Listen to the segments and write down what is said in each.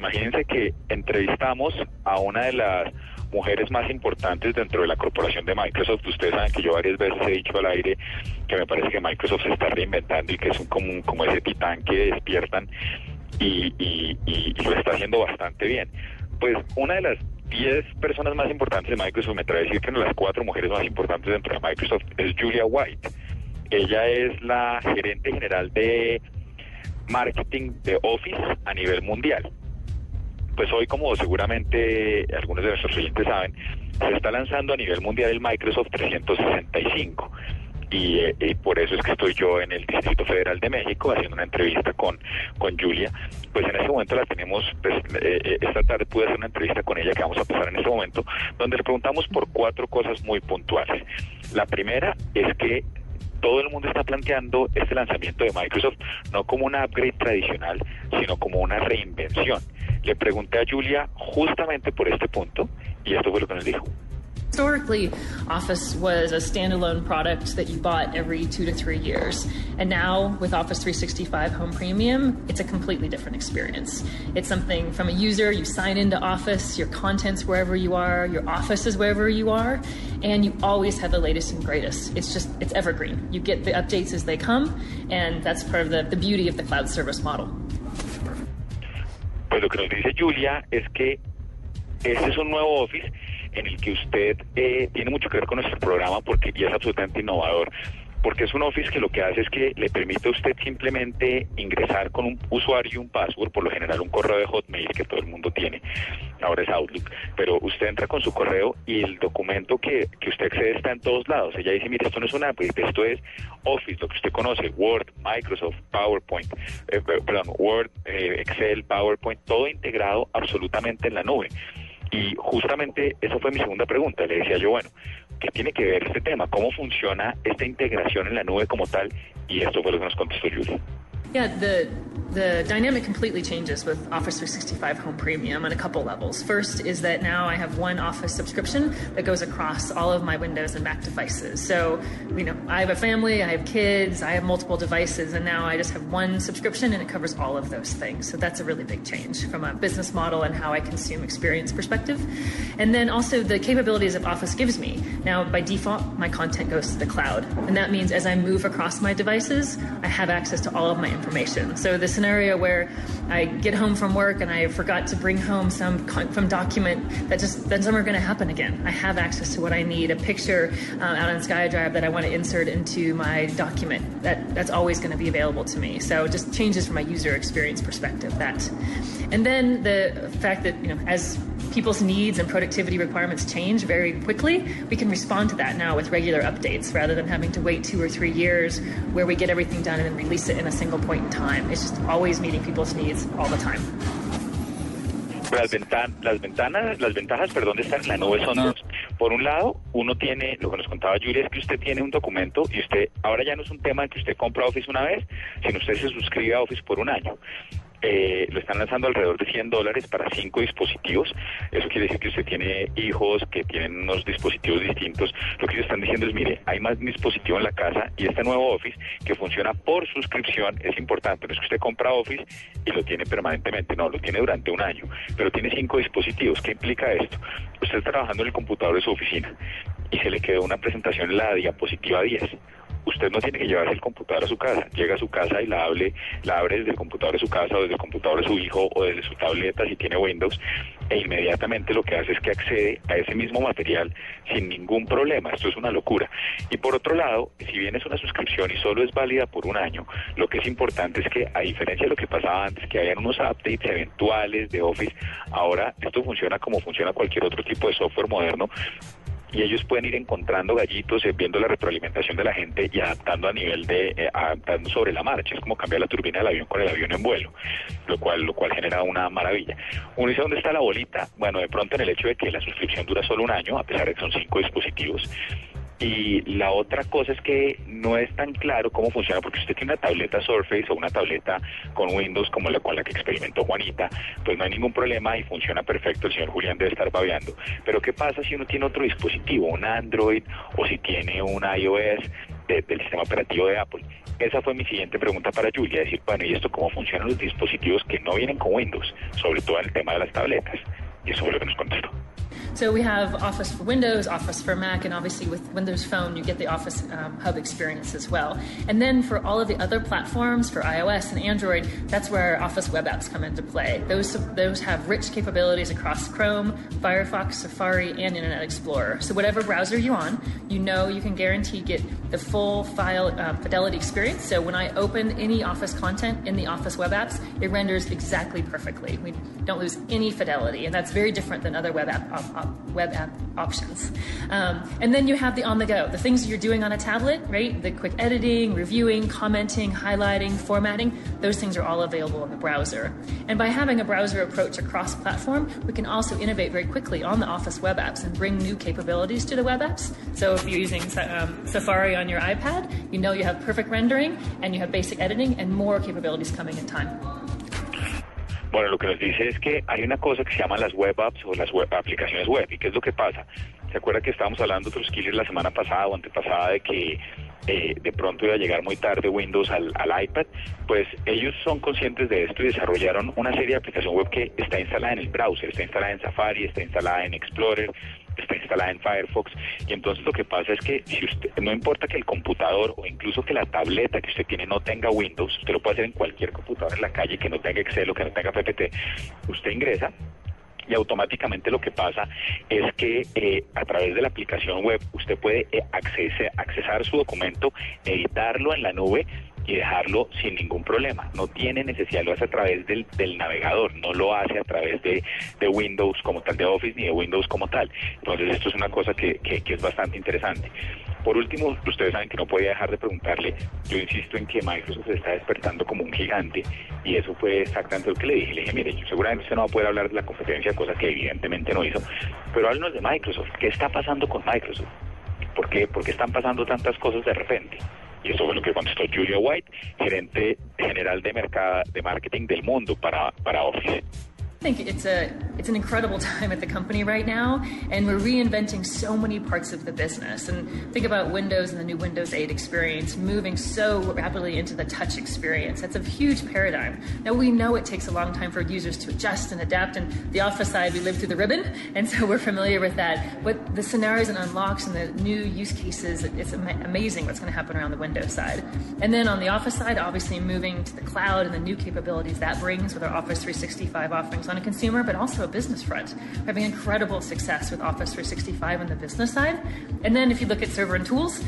imagínense que entrevistamos a una de las mujeres más importantes dentro de la corporación de Microsoft. Ustedes saben que yo varias veces he dicho al aire que me parece que Microsoft se está reinventando y que es como ese titán que despiertan y lo está haciendo bastante bien. Pues una de las 10 personas más importantes de Microsoft, me atrevo a decir que una de las 4 mujeres más importantes dentro de Microsoft es Julia White. Ella es la gerente general de marketing de Office a nivel mundial. Pues hoy, como seguramente algunos de nuestros oyentes saben, se está lanzando a nivel mundial el Microsoft 365. Y por eso es que estoy yo en el Distrito Federal de México haciendo una entrevista con Julia. Pues en este momento la tenemos, esta tarde pude hacer una entrevista con ella que vamos a pasar en este momento, donde le preguntamos por 4 cosas muy puntuales. La primera es que todo el mundo está planteando este lanzamiento de Microsoft no como una upgrade tradicional, sino como una reinvención. Le pregunté a Julia justamente por este punto y esto fue lo que nos dijo. Historically, Office was a standalone product that you bought every 2 to 3 years. And now, with Office 365 Home Premium, it's a completely different experience. It's something from a user, you sign into Office, your content's wherever you are, your office is wherever you are, and you always have the latest and greatest. It's evergreen. You get the updates as they come, and that's part of the beauty of the cloud service model. Pues lo que nos dice Julia es que este es un nuevo Office en el que usted tiene mucho que ver con nuestro programa porque ya es absolutamente innovador, porque es un Office que lo que hace es que le permite a usted simplemente ingresar con un usuario y un password, por lo general un correo de Hotmail que todo el mundo tiene, ahora es Outlook, pero usted entra con su correo y el documento que usted accede está en todos lados. Ella dice, mire, esto no es una app, esto es Office, lo que usted conoce, Word, Microsoft, PowerPoint, Word, Excel, PowerPoint, todo integrado absolutamente en la nube. Y justamente esa fue mi segunda pregunta. Le decía yo, bueno, ¿qué tiene que ver este tema? ¿Cómo funciona esta integración en la nube como tal? Y esto fue lo que nos contestó Julia. Yeah, the dynamic completely changes with Office 365 Home Premium on a couple levels. First is that now I have one Office subscription that goes across all of my Windows and Mac devices. So, I have a family, I have kids, I have multiple devices, and now I just have one subscription and it covers all of those things. So that's a really big change from a business model and how I consume experience perspective. And then also the capabilities that Office gives me. Now, by default, my content goes to the cloud. And that means as I move across my devices, I have access to all of my information. So the scenario where I get home from work and I forgot to bring home some document, that's never going to happen again. I have access to what I need, a picture out on SkyDrive that I want to insert into my document. That's always going to be available to me. So it just changes from a user experience perspective. And then the fact that as people's needs and productivity requirements change very quickly, we can respond to that now with regular updates rather than having to wait 2 or 3 years where we get everything done and then release it in a single point in time. It's just always meeting people's needs all the time. Las ventajas, de estar en la nube son dos. Por un lado, uno tiene, lo que nos contaba Julia, es que usted tiene un documento y usted, ahora ya no es un tema de que usted compra Office una vez, sino usted se suscribe a Office por un año. Lo están lanzando alrededor de $100 para 5 dispositivos. Eso quiere decir que usted tiene hijos que tienen unos dispositivos distintos. Lo que ellos están diciendo es, mire, hay más dispositivos en la casa y este nuevo Office que funciona por suscripción es importante. No es que usted compra Office y lo tiene permanentemente, no, lo tiene durante un año, pero tiene 5 dispositivos. ¿Qué implica esto? Usted está trabajando en el computador de su oficina y se le quedó una presentación en la diapositiva 10. Usted no tiene que llevarse el computador a su casa, llega a su casa y la abre desde el computador de su casa o desde el computador de su hijo o desde su tableta si tiene Windows, e inmediatamente lo que hace es que accede a ese mismo material sin ningún problema. Esto es una locura. Y por otro lado, si bien es una suscripción y solo es válida por un año, lo que es importante es que, a diferencia de lo que pasaba antes, que hayan unos updates eventuales de Office, ahora esto funciona como funciona cualquier otro tipo de software moderno, y ellos pueden ir encontrando gallitos, viendo la retroalimentación de la gente y adaptando adaptando sobre la marcha. Es como cambiar la turbina del avión con el avión en vuelo, lo cual genera una maravilla. Uno dice, ¿dónde está la bolita? Bueno, de pronto en el hecho de que la suscripción dura solo un año, a pesar de que son 5 dispositivos. Y la otra cosa es que no es tan claro cómo funciona, porque si usted tiene una tableta Surface o una tableta con Windows como con la que experimentó Juanita, pues no hay ningún problema y funciona perfecto. El señor Julián debe estar babeando. Pero ¿qué pasa si uno tiene otro dispositivo, un Android, o si tiene un iOS? del sistema operativo de Apple. Esa fue mi siguiente pregunta para Julia, decir, bueno, ¿y esto cómo funcionan los dispositivos que no vienen con Windows? Sobre todo en el tema de las tabletas. Y eso fue lo que nos contestó. So we have Office for Windows, Office for Mac, and obviously with Windows Phone, you get the Office Hub experience as well. And then for all of the other platforms, for iOS and Android, that's where Office web apps come into play. Those have rich capabilities across Chrome, Firefox, Safari, and Internet Explorer. So whatever browser you're on, you can guarantee get the full file fidelity experience. So when I open any Office content in the Office web apps, it renders exactly perfectly. We don't lose any fidelity, and that's very different than other web app options. And then you have the on-the-go, the things you're doing on a tablet, right? The quick editing, reviewing, commenting, highlighting, formatting, those things are all available in the browser. And by having a browser approach across platform, we can also innovate very quickly on the Office web apps and bring new capabilities to the web apps. So if you're using Safari on your iPad, you have perfect rendering and you have basic editing and more capabilities coming in time. Bueno, lo que nos dice es que hay una cosa que se llama las web apps o las aplicaciones web. ¿Y qué es lo que pasa? ¿Se acuerda que estábamos hablando de Trustkiller la semana pasada o antepasada de que de pronto iba a llegar muy tarde Windows al iPad? Pues ellos son conscientes de esto y desarrollaron una serie de aplicación web que está instalada en el browser, está instalada en Safari, está instalada en Explorer, está instalada en Firefox. Y entonces lo que pasa es que si usted, no importa que el computador o incluso que la tableta que usted tiene no tenga Windows, usted lo puede hacer en cualquier computador en la calle que no tenga Excel o que no tenga PPT, usted ingresa y automáticamente lo que pasa es que a través de la aplicación web usted puede accesar su documento, editarlo en la nube y dejarlo sin ningún problema. No tiene necesidad, lo hace a través del navegador, no lo hace a través de Windows como tal, de Office, ni de Windows como tal. Entonces esto es una cosa que es bastante interesante. Por último, ustedes saben que no podía dejar de preguntarle, yo insisto en que Microsoft se está despertando como un gigante, y eso fue exactamente lo que le dije. Le dije, mire, yo seguramente usted no va a poder hablar de la competencia, cosa que evidentemente no hizo, pero háblenos de Microsoft. ¿Qué está pasando con Microsoft? ¿Por qué están pasando tantas cosas de repente? Y eso fue lo que contestó Julia White, gerente general de marketing del mundo para Office. I think it's an incredible time at the company right now, and we're reinventing so many parts of the business. And think about Windows and the new Windows 8 experience moving so rapidly into the touch experience. That's a huge paradigm. Now, we know it takes a long time for users to adjust and adapt, and the Office side, we live through the ribbon, and so we're familiar with that. But the scenarios and unlocks and the new use cases, it's amazing what's going to happen around the Windows side. And then on the Office side, obviously moving to the cloud and the new capabilities that brings with our Office 365 offerings on a consumer, but also a business front. We're having incredible success with Office 365 on the business side. And then if you look at server and tools,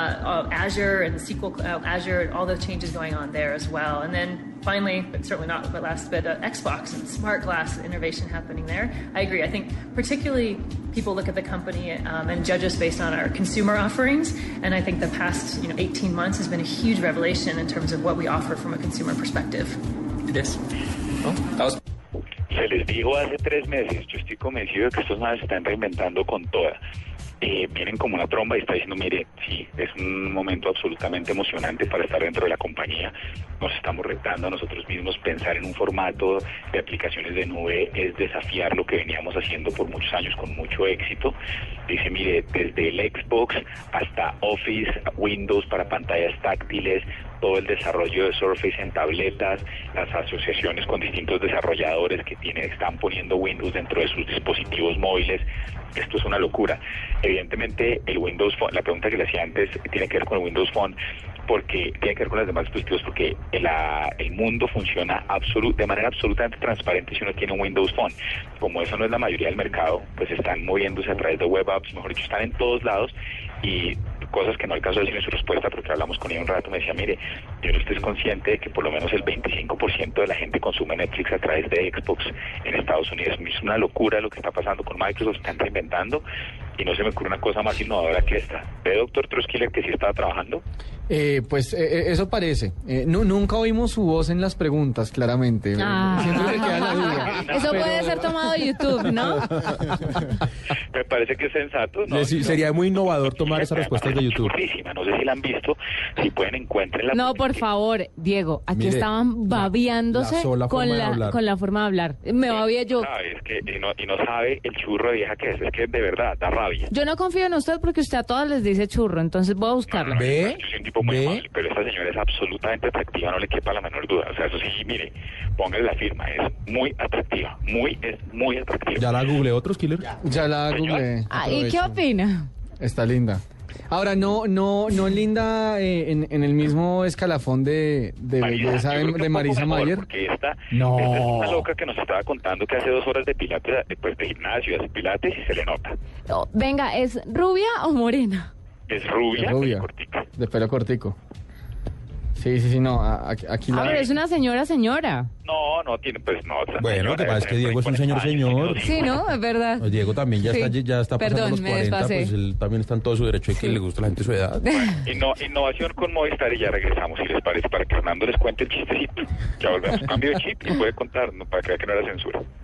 Azure and SQL Azure, all those changes going on there as well. And then finally, but certainly not last, but Xbox and smart glass innovation happening there. I agree. I think particularly people look at the company and judge us based on our consumer offerings. And I think the past 18 months has been a huge revelation in terms of what we offer from a consumer perspective. Yes. Oh, that was... Se les dijo hace 3 meses, yo estoy convencido de que estos madres se están reinventando con toda. Vienen como una tromba y está diciendo, mire, sí, es un momento absolutamente emocionante para estar dentro de la compañía. Nos estamos retando a nosotros mismos. Pensar en un formato de aplicaciones de nube es desafiar lo que veníamos haciendo por muchos años con mucho éxito. Dice, mire, desde el Xbox hasta Office, Windows para pantallas táctiles, todo el desarrollo de Surface en tabletas, las asociaciones con distintos desarrolladores que están poniendo Windows dentro de sus dispositivos móviles. Esto es una locura. Evidentemente, el Windows Phone, la pregunta que le hacía antes tiene que ver con el Windows Phone, porque tiene que ver con los demás dispositivos, porque el mundo funciona de manera absolutamente transparente si uno tiene un Windows Phone. Como eso no es la mayoría del mercado, pues están moviéndose a través de web apps, mejor dicho, están en todos lados, y cosas que no alcanzó a decir en su respuesta porque hablamos con ella un rato, me decía, mire, yo no estoy consciente de que por lo menos el 25% de la gente consume Netflix a través de Xbox en Estados Unidos. Es una locura lo que está pasando con Microsoft, están reinventando, y no se me ocurre una cosa más innovadora que esta. ¿Ve, doctor Trustkiller, que sí estaba trabajando? Eso parece. Nunca oímos su voz en las preguntas, claramente. Siempre se queda la duda. Eso puede ser tomado de YouTube, ¿no? Me parece que es sensato, ¿no? Sería muy innovador tomar esas respuestas de YouTube. No sé si la han visto, si pueden encuentrenla. No, por favor, Diego, aquí estaban babeándose con la forma de hablar. Me babía yo. Es que, y no sabe el churro de vieja que es que de verdad da rabia. rabia. Yo no confío en usted porque usted a todas les dice churro, entonces voy a buscarla. ¿Ve? Yo soy un tipo muy amable, pero esta señora es absolutamente atractiva, no le quepa la menor duda. O sea, eso sí, mire, póngale la firma, es muy atractiva, es muy atractiva. ¿Ya la googleé otros, Killer? Ya la googleé. ¿Y qué opina? Está linda. Ahora, no linda en el mismo escalafón de belleza de Marisa Mayer. Porque esta es una loca que nos estaba contando que hace 2 horas de pilates, pues de gimnasio, hace pilates y se le nota. No, venga, ¿es rubia o morena? Es rubia, de pelo cortico. Sí, no, aquí la... pero es una señora. No, tiene, pues no. Bueno, lo que pasa es que Diego es un señor. Sí, ¿no? Es verdad. Pues Diego también ya está pasando los 40, pues él también está en todo su derecho de que le gusta a la gente de su edad. Bueno, innovación con Movistar y ya regresamos, si les parece, para que Hernando les cuente el chistecito. Ya volvemos, cambio de chip y puede contar, no, para que vea que no era censura.